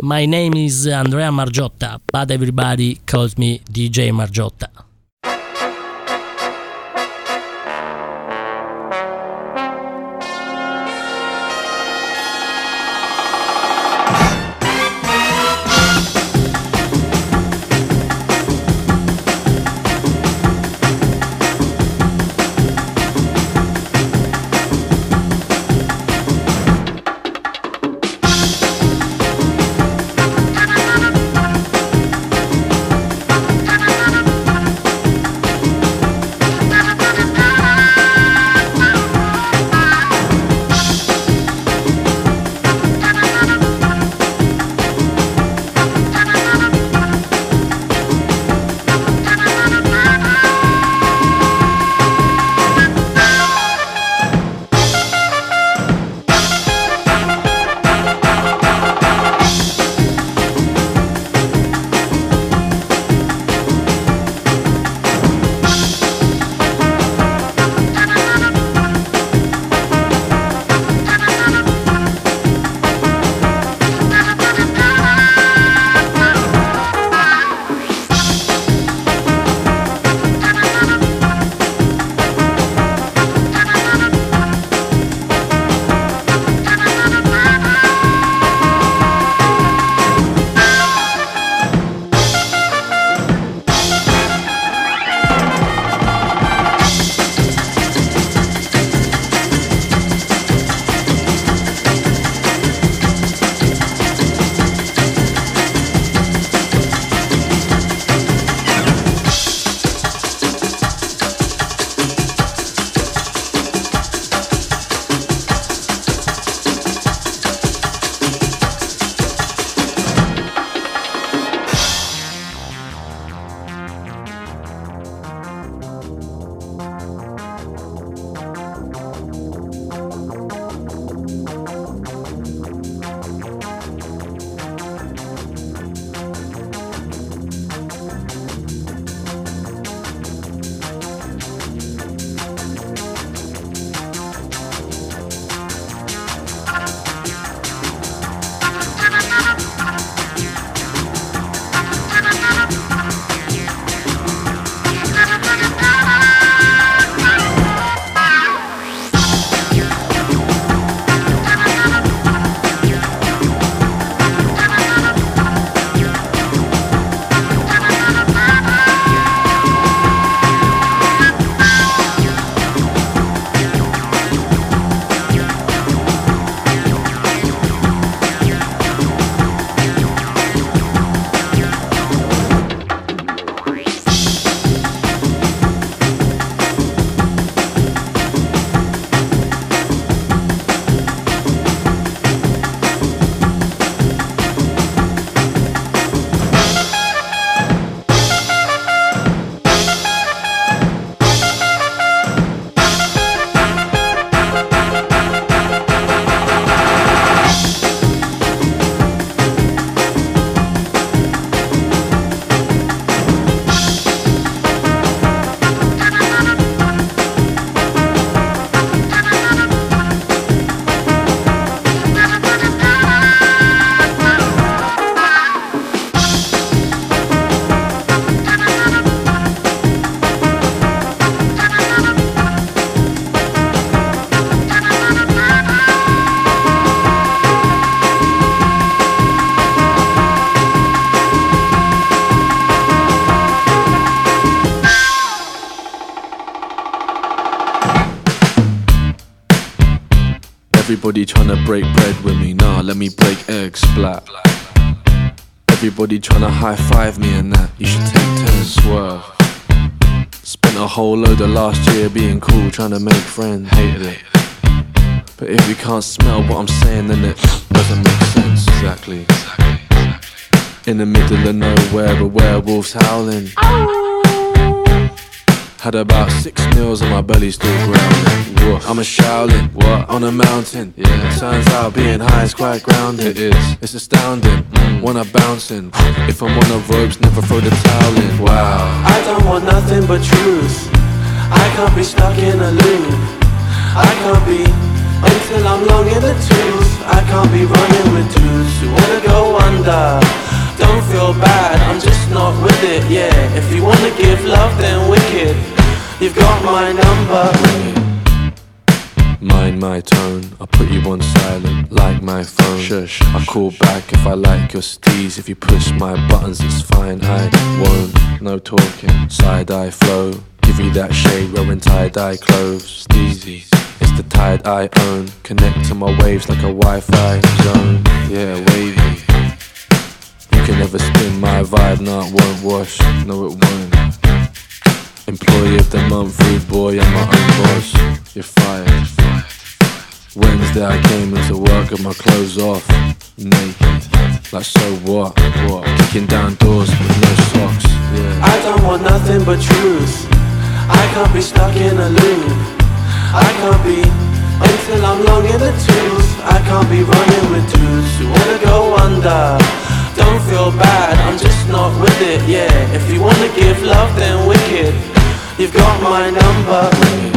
My name is Andrea Margiotta, but everybody calls me DJ Margiotta. Everybody tryna break bread with me, nah, let me break eggs, splat. Everybody tryna high five me and that, you should take 10, swerve. Spent a whole load of last year being cool, tryna make friends, hated it. But if you can't smell what I'm saying, then it doesn't make sense, exactly. In the middle of nowhere, a werewolf's howling. Had about 6 meals and my belly's still growling. Woof. I'm a Shaolin, what? On a mountain. Yeah. Turns out being high is quite grounding. It is. It's astounding. When I'm bouncing, if I'm on the ropes, never throw the towel in. Wow. I don't want nothing but truth. I can't be stuck in a loop. I can't be until I'm long in the tooth. I can't be running with dudes who wanna go under. wonder. Don't feel bad, I'm just not with it, yeah. If you wanna give love, then wicked. You've got my number. Mind my tone, I put you on silent like my phone. Shush, I call back if I like your steez. If you push my buttons, it's fine, I won't. No talking, side-eye flow. Give you that shade wearing tie-dye clothes. Steezy, it's the tide I own. Connect to my waves like a Wi-Fi zone. Yeah, wavy. You can never spin my vibe, nah, it won't wash. No, it won't. Employee of the month, rude boy, I'm my own boss. You're fired. Wednesday I came into work with my clothes off, naked. Like so what? Kicking down doors with no socks, yeah. I don't want nothing but truth. I can't be stuck in a loop. I can't be until I'm long in the tooth. I can't be running with dudes who wanna go under. Don't feel bad, I'm just not with it, yeah. If you wanna give love, then wicked. You've got my number.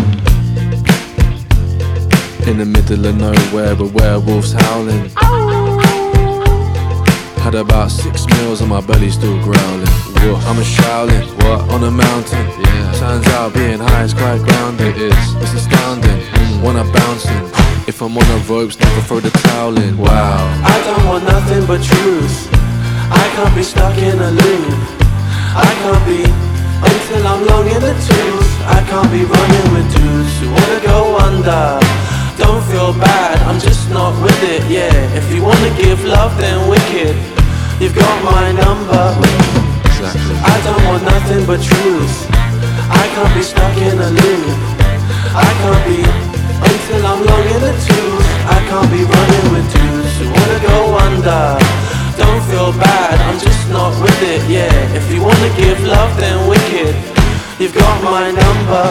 In the middle of nowhere, but werewolves howling. Had about 6 meals and my belly still growling. Woof. I'm a Shaolin, what? On a mountain, yeah. Turns out being high is quite grounded. It is, it's astounding. When I'm bouncing, if I'm on the ropes, never throw the towel in. Wow. I don't want nothing but truth. I can't be stuck in a loop. I can't be until I'm long in the tooth. I can't be running with dudes who wanna go under. Don't feel bad, I'm just not with it, yeah. If you wanna give love, then wicked. You've got my number. Exactly. I don't want nothing but truth. I can't be stuck in a loop. I can't be until I'm long in the tooth. I can't be running with dudes who wanna go under. Don't feel bad, I'm just not with it, yeah. If you wanna give love, then wicked. You've got my number.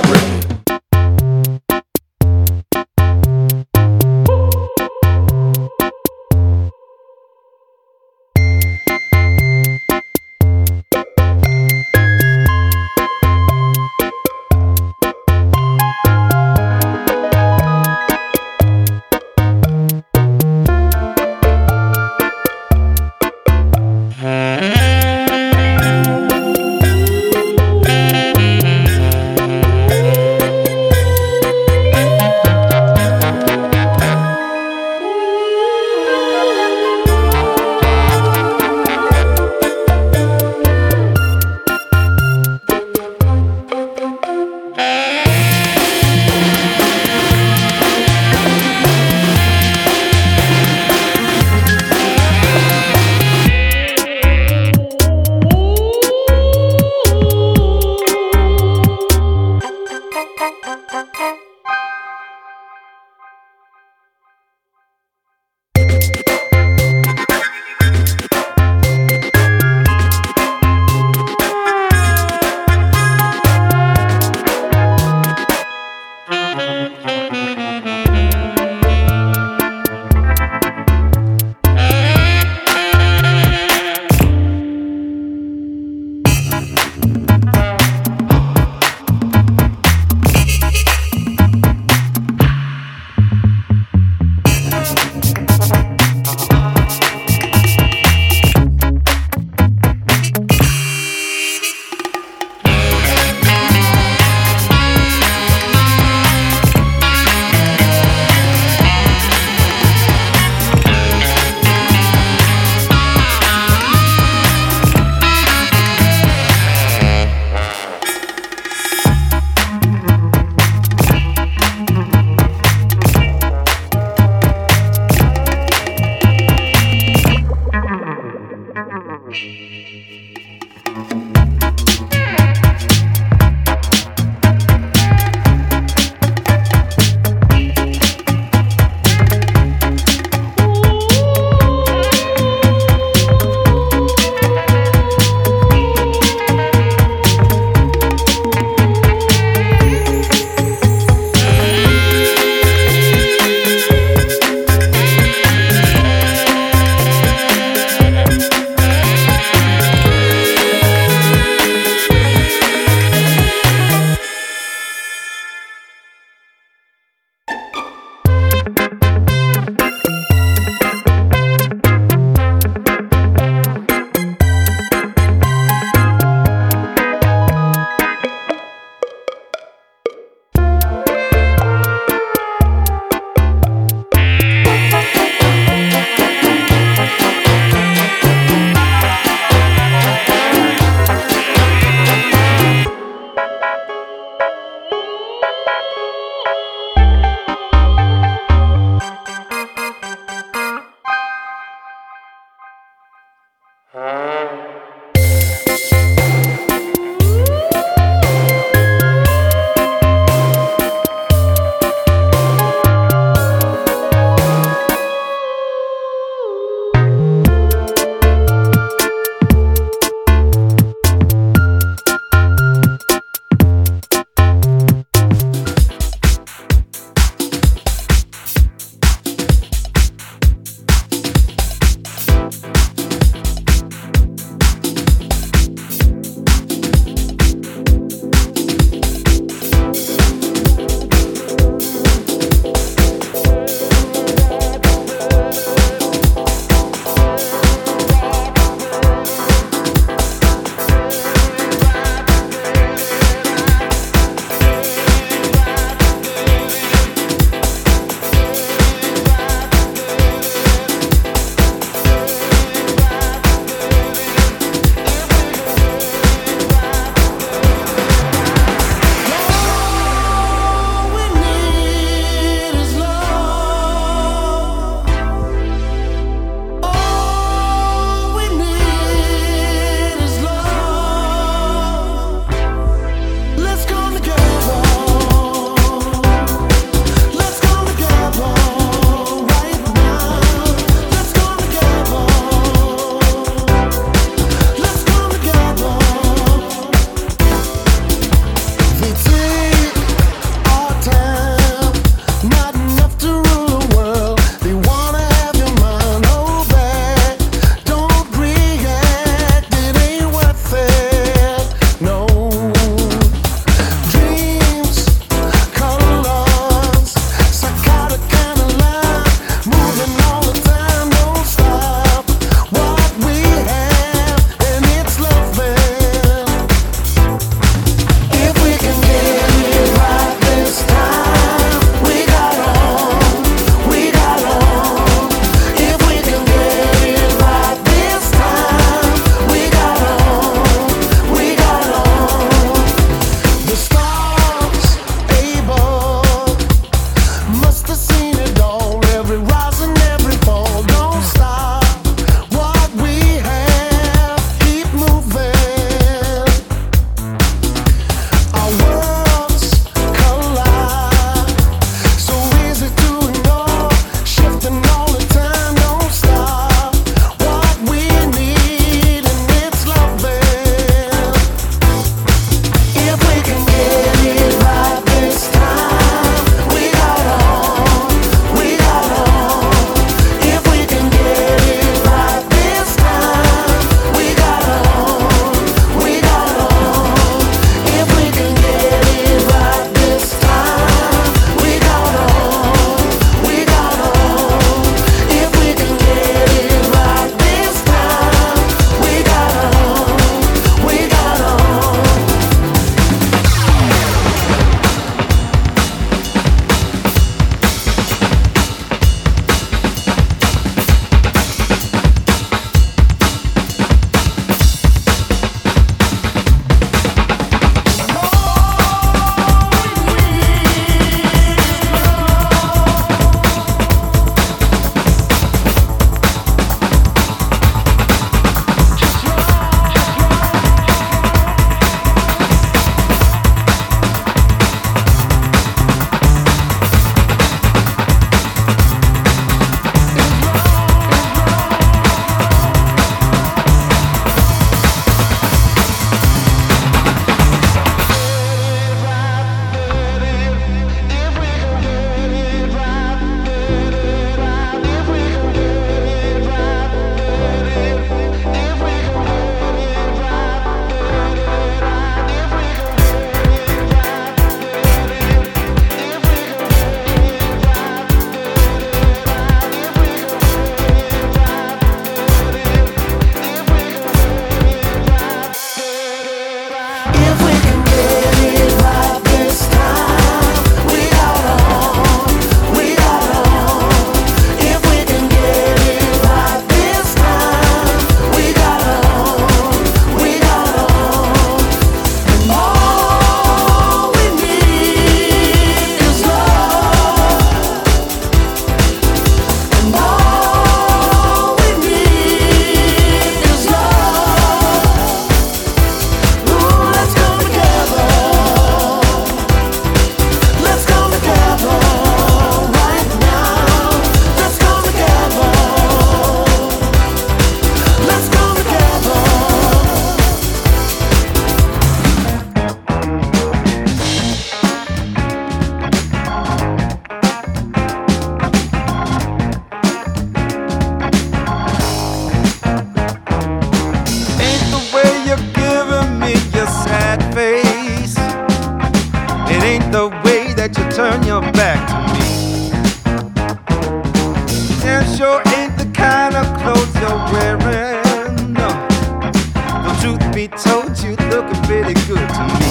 the kind of clothes you're wearing. No. The truth be told, you looking pretty good to me.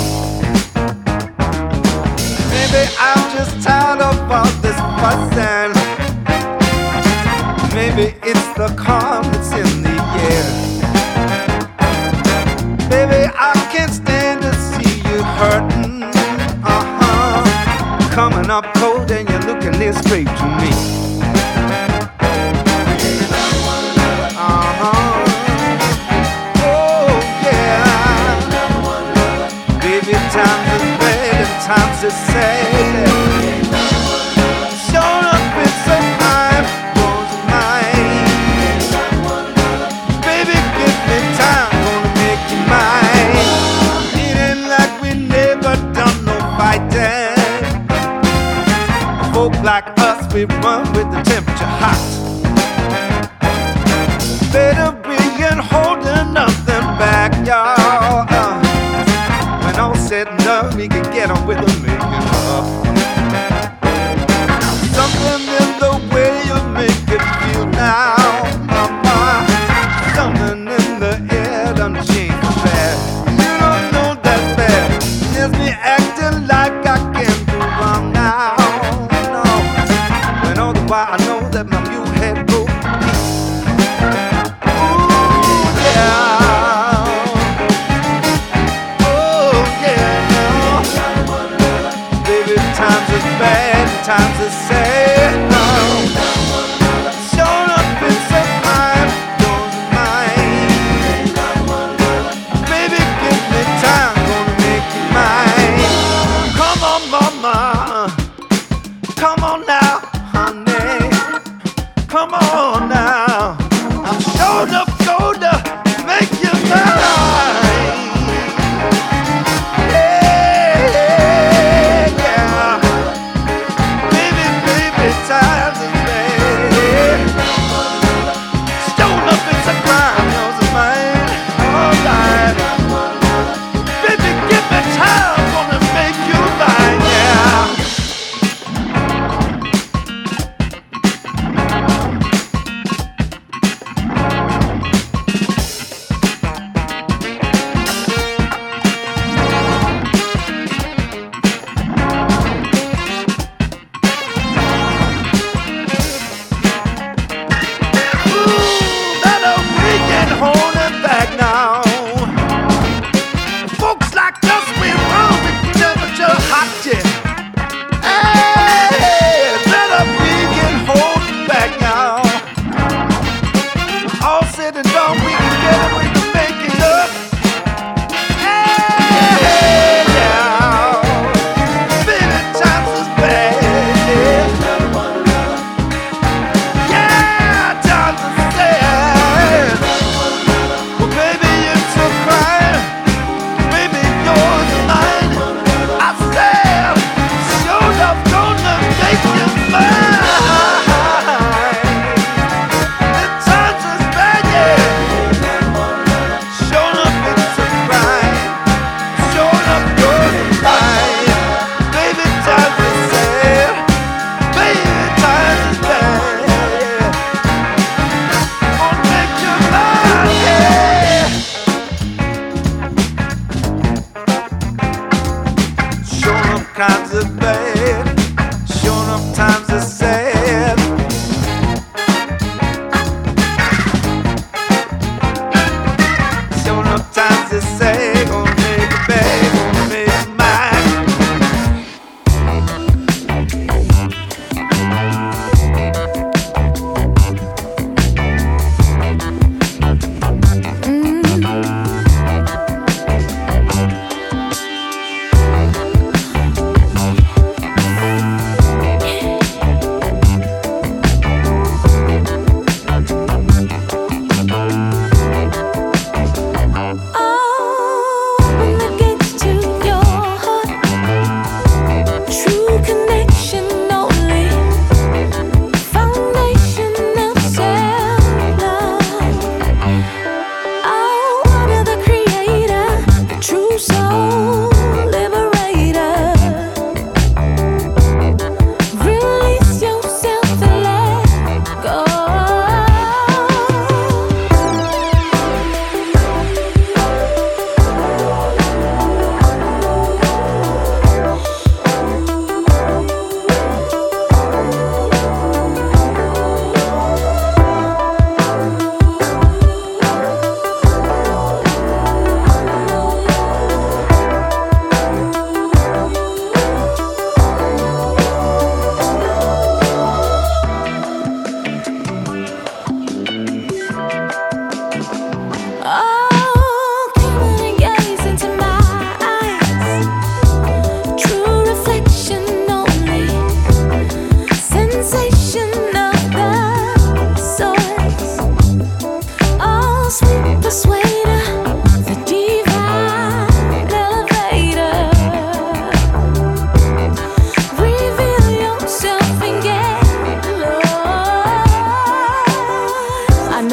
Maybe I'm just tired of all this fussing. Maybe it's the calm that's in the air. Baby, I can't stand to see you hurting. Coming up cold and you're looking this straight to me. Oh yeah. Baby, times is bad and times is sad. Showing up with some time, was mine. Baby, give me time, gonna make you mine. It ain't like we never done no fighting. Folk like us, we run with the temperature hot. Better we ain't holding nothing back, y'all. When all said and done, we can get on with the making up. Something in the way you make it feel now, mama. Something in the air done changed the bad. You don't know that bad. There's me acting like I can't do wrong now. Why I know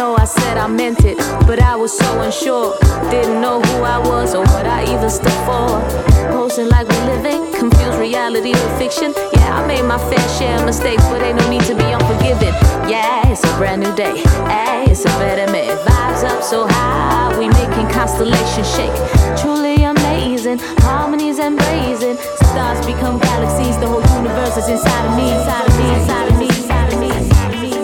know I said I meant it, but I was so unsure. Didn't know who I was or what I even stood for. Posing like we're living, confused reality with fiction. Yeah, I made my fair share of mistakes, but ain't no need to be unforgiving. Yeah, it's a brand new day. Hey, it's a better me. Vibes up so high, we making constellations shake. Truly amazing, harmonies and blazing. Stars become galaxies, the whole universe is inside of me, inside of me, inside of me, inside of me, inside of me, inside of me.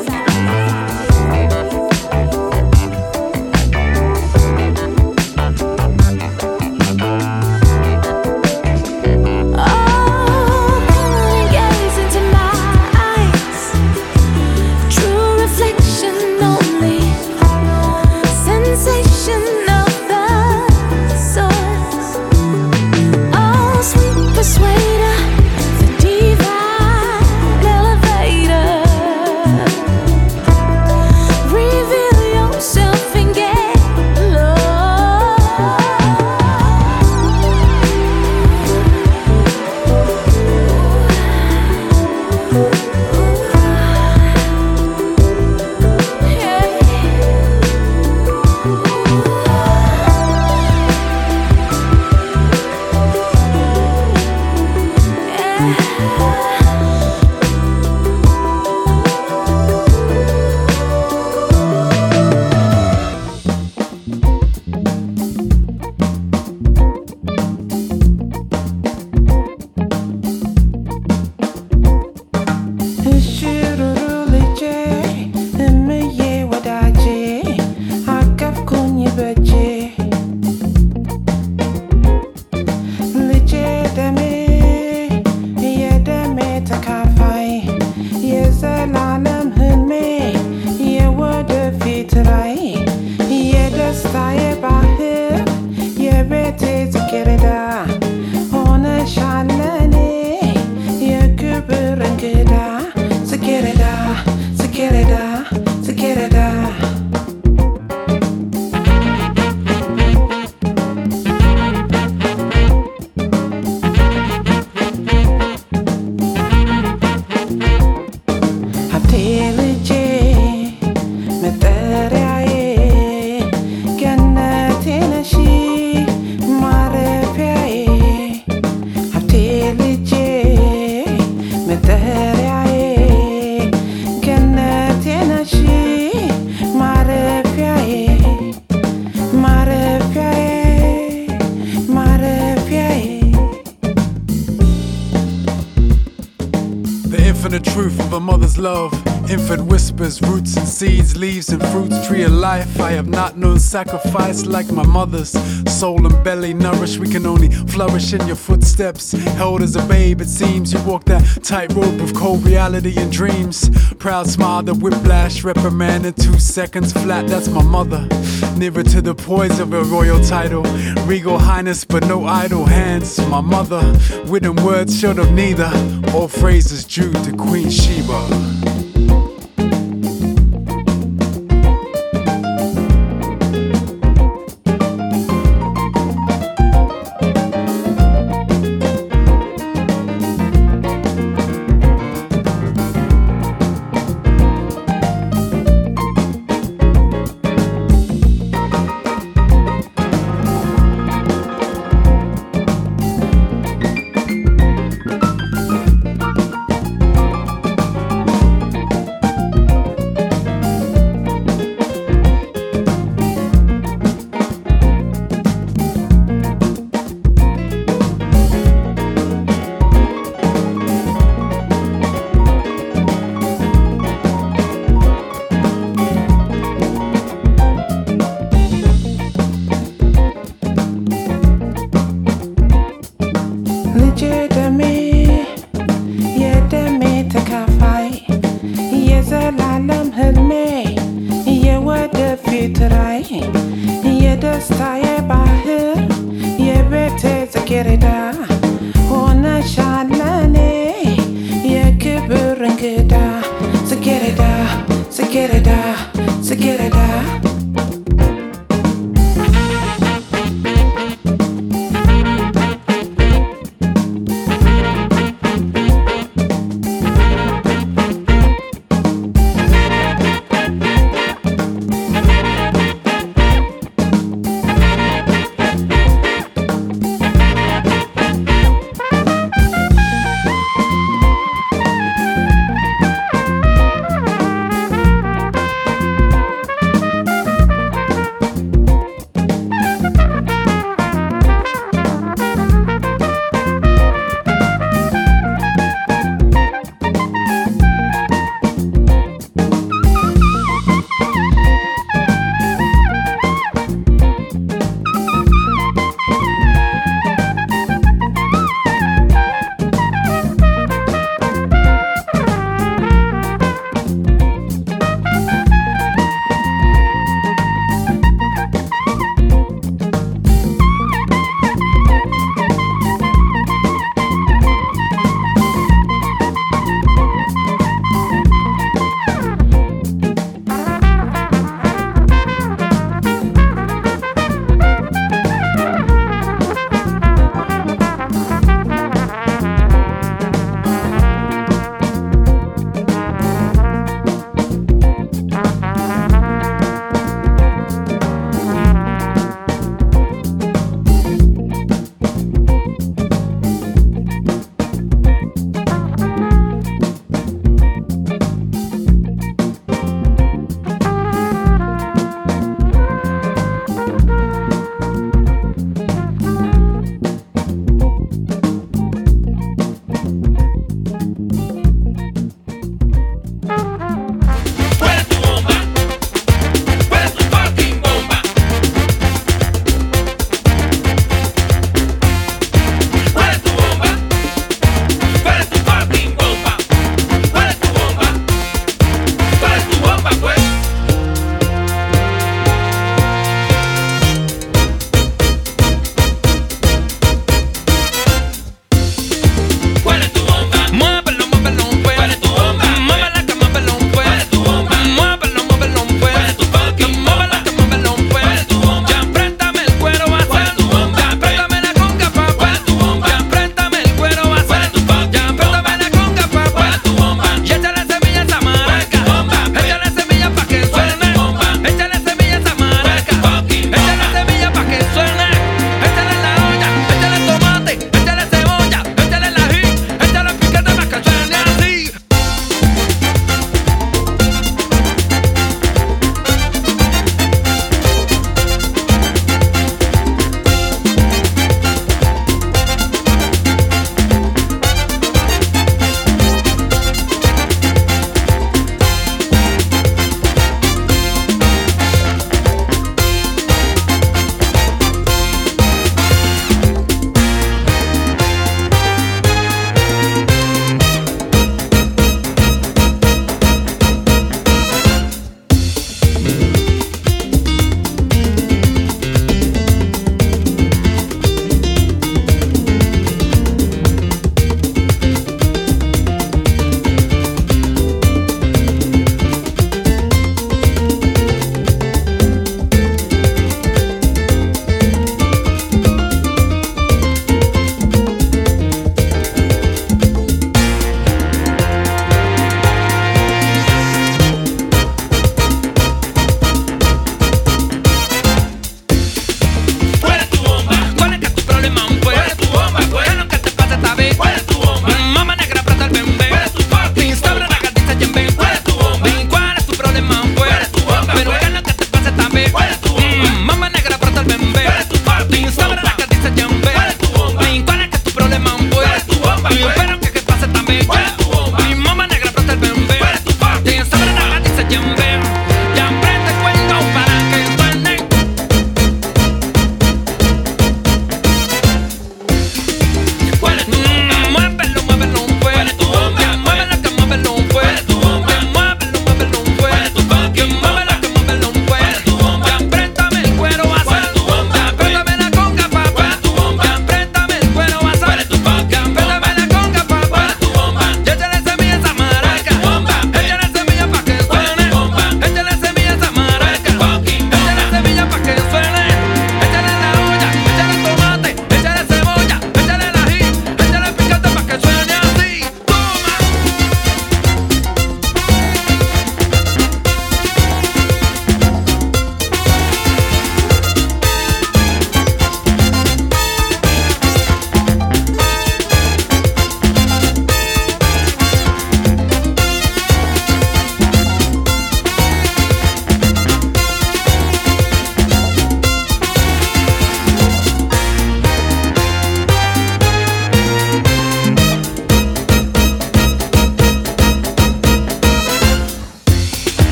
Infant whispers, roots and seeds, leaves and fruits, tree of life. I have not known sacrifice like my mother's. Soul and belly nourished, we can only flourish in your footsteps. Held as a babe, it seems you walk that tightrope of cold reality and dreams. Proud smile, the whiplash, reprimand in 2 seconds flat. That's my mother. Nearer to the poise of a royal title, regal highness, but no idle hands. My mother, written words short of neither. All phrases due to Queen Sheba.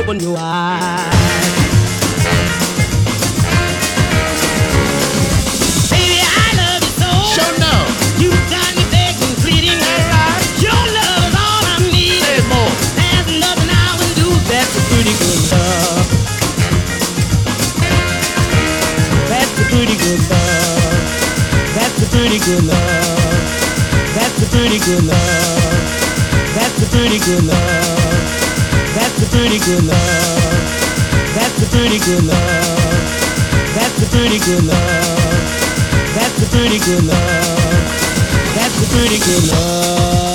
open your eyes. Baby, I love you so. Sure no. You got me begging, pleading her right. Your love is all I need. Say more. There's nothing I would do. That's a pretty good love. That's a pretty good love. That's a pretty good love. That's a pretty good love. That's a pretty good love. That's a pretty good love. That's a pretty good love. That's a pretty good love. That's a pretty good love. That's a pretty good love.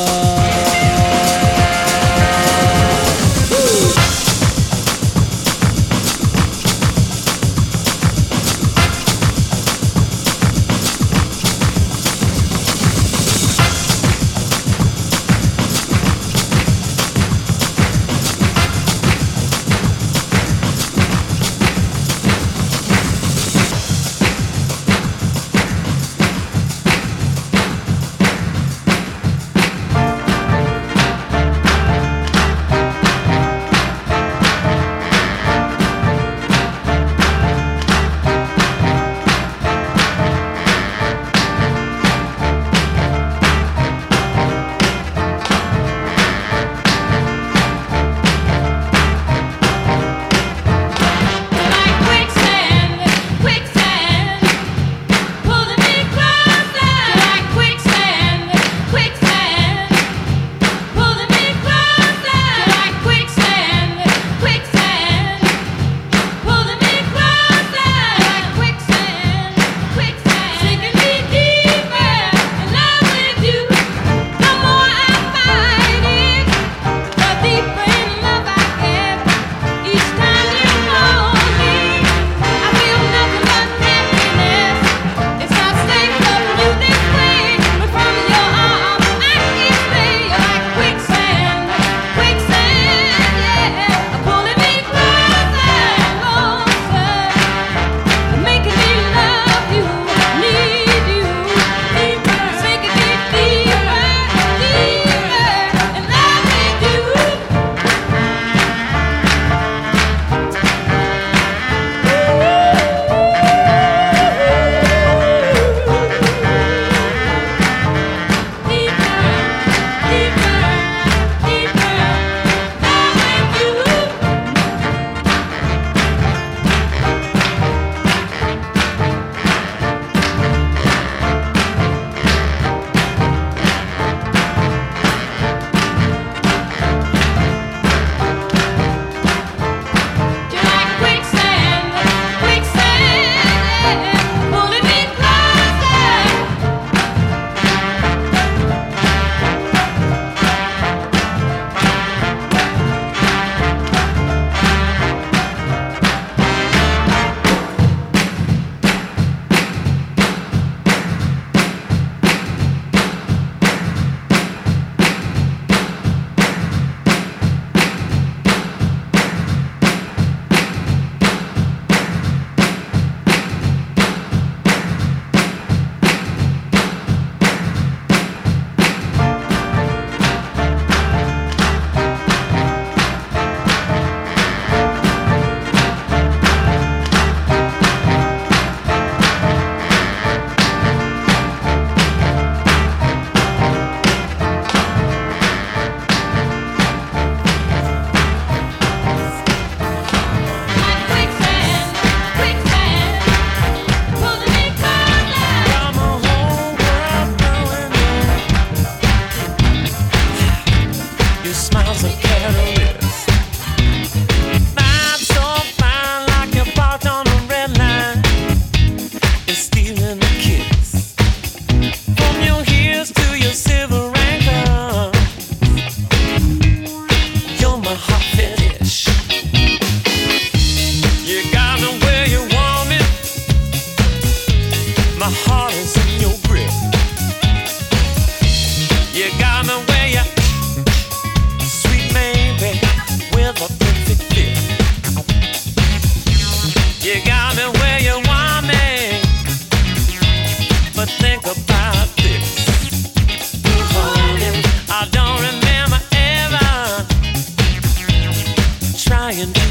trying to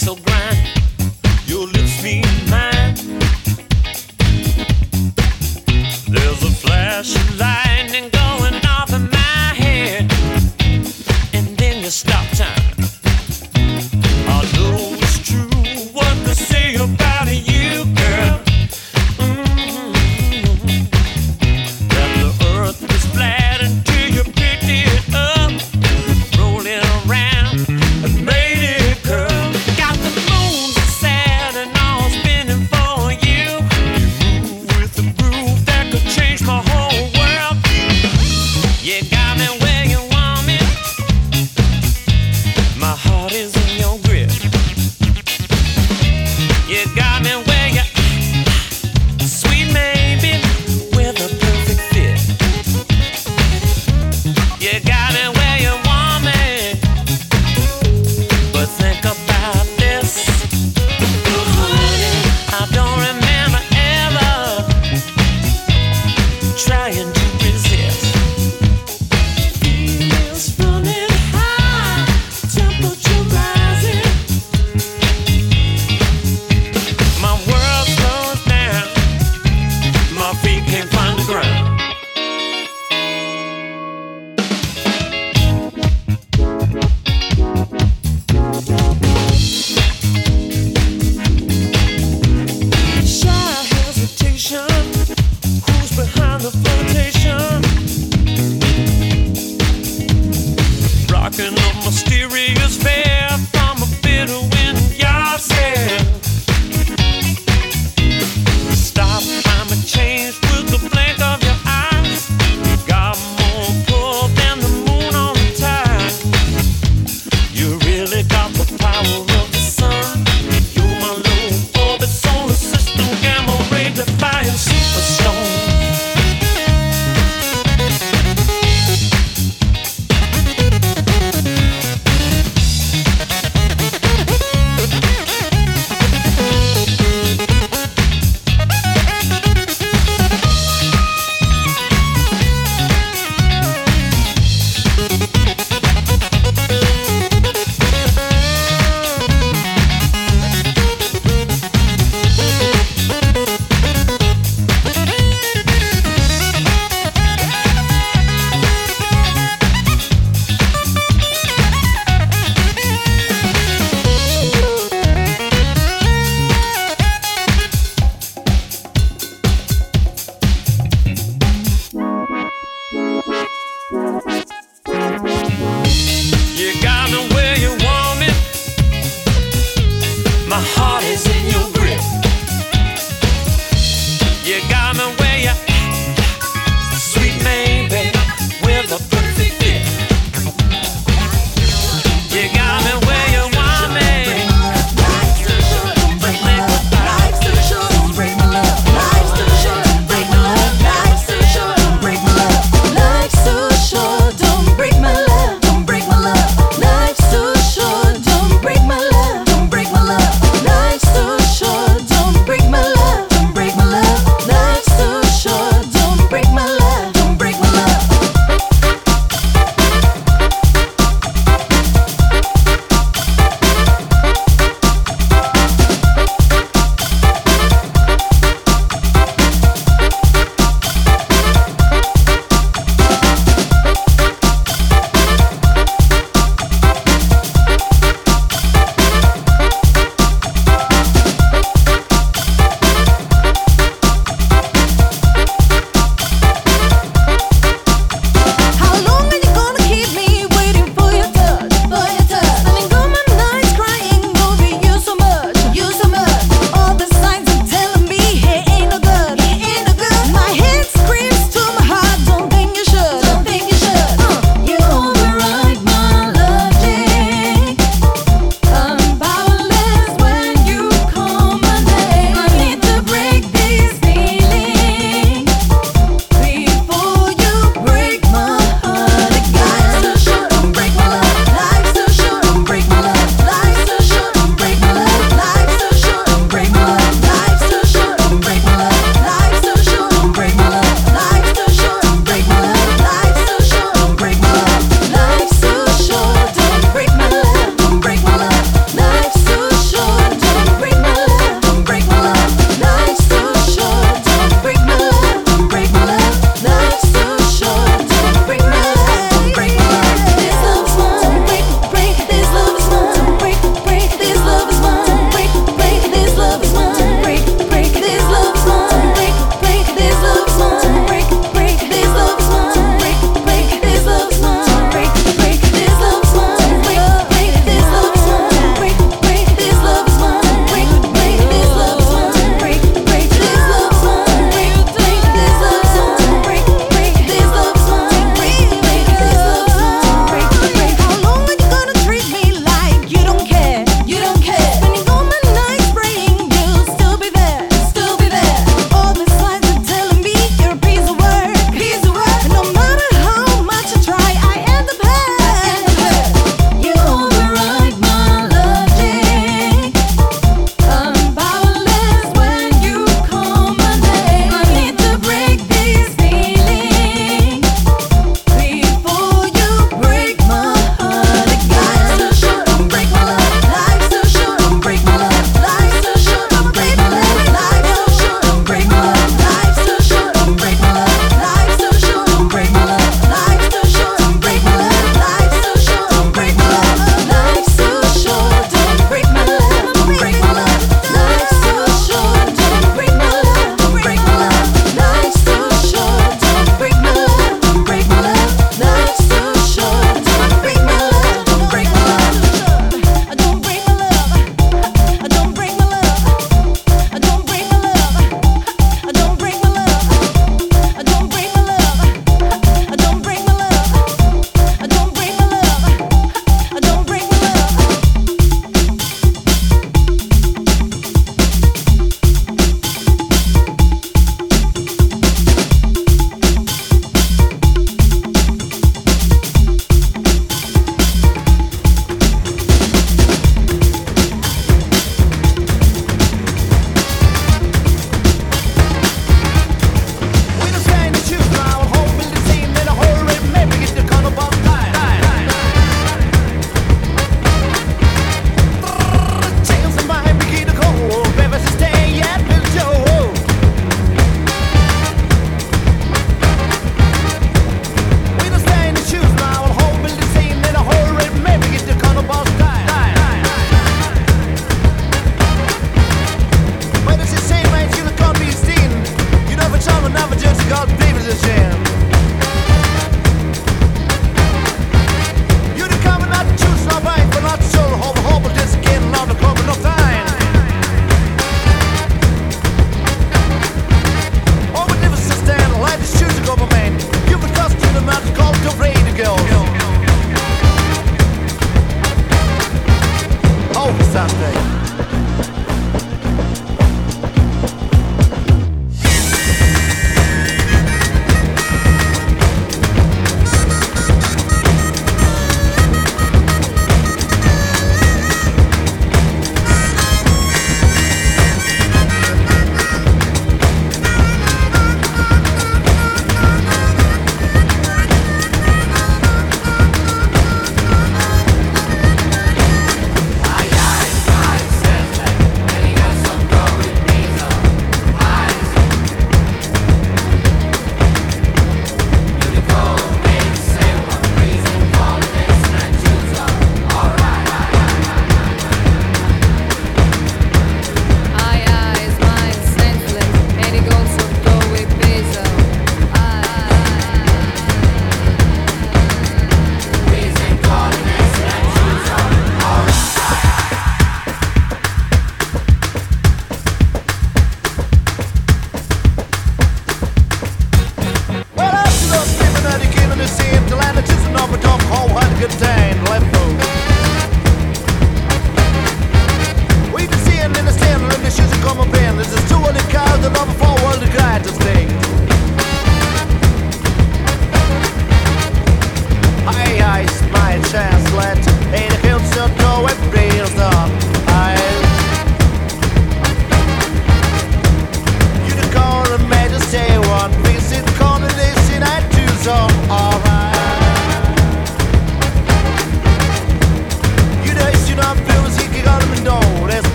so grand. Your lips meet mine. There's a flash of lightning going off in my head, and then you stop time. I know it's true what they say about you, girl. That the earth is flat until you picked it up, roll it around and made it curl. Got the moon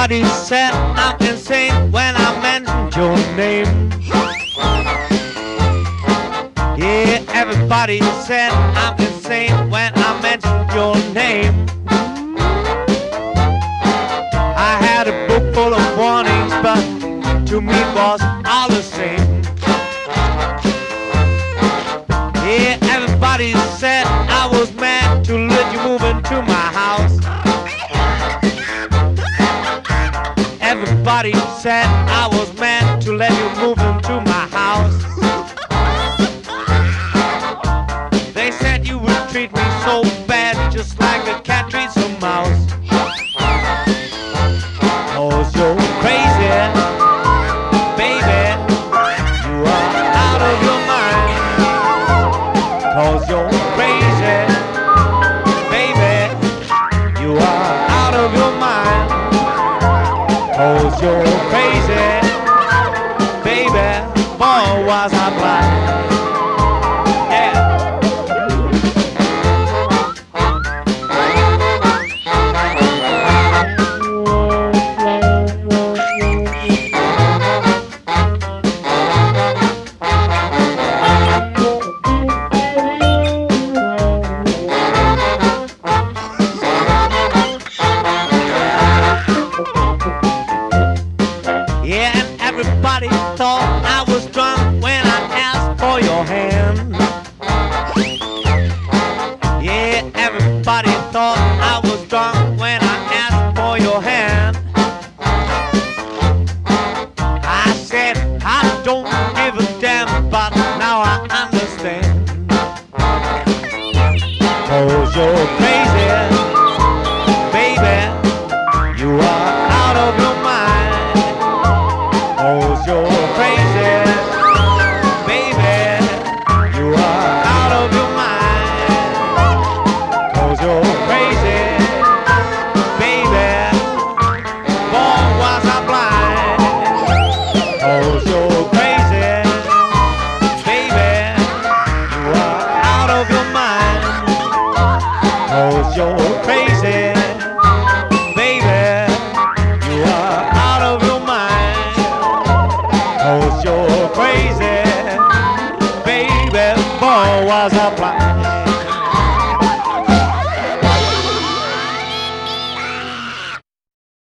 Everybody said I'm insane when I mentioned your name. Yeah, everybody said I'm insane when I mentioned your name. I had a book full of warnings, but to me it was all the same. Yeah, everybody said I was mad to let you move into my house. Everybody said I was mad to let you move into my house. They said you would treat me so bad, just like a cat treats a mouse. 'Cause you're crazy, baby, you are out of your mind. 'Cause you're crazy, baby, you are out of your mind. 'Cause you're crazy, baby, boy was I blind. Everybody thought I was drunk when I asked for your hand. Yeah, everybody thought I was drunk when I asked for your hand. I said I don't give a damn, but now I understand. 'Cause you're crazy, baby, you are out of your mind. 'Cause you're crazy, baby, you are out of your mind. 'Cause you're crazy, baby, boy was I blind. 'Cause you're crazy, baby, you are out of your mind. 'Cause you're crazy, baby, you are out of your mind. 'Cause you're crazy, baby, boy was I blind.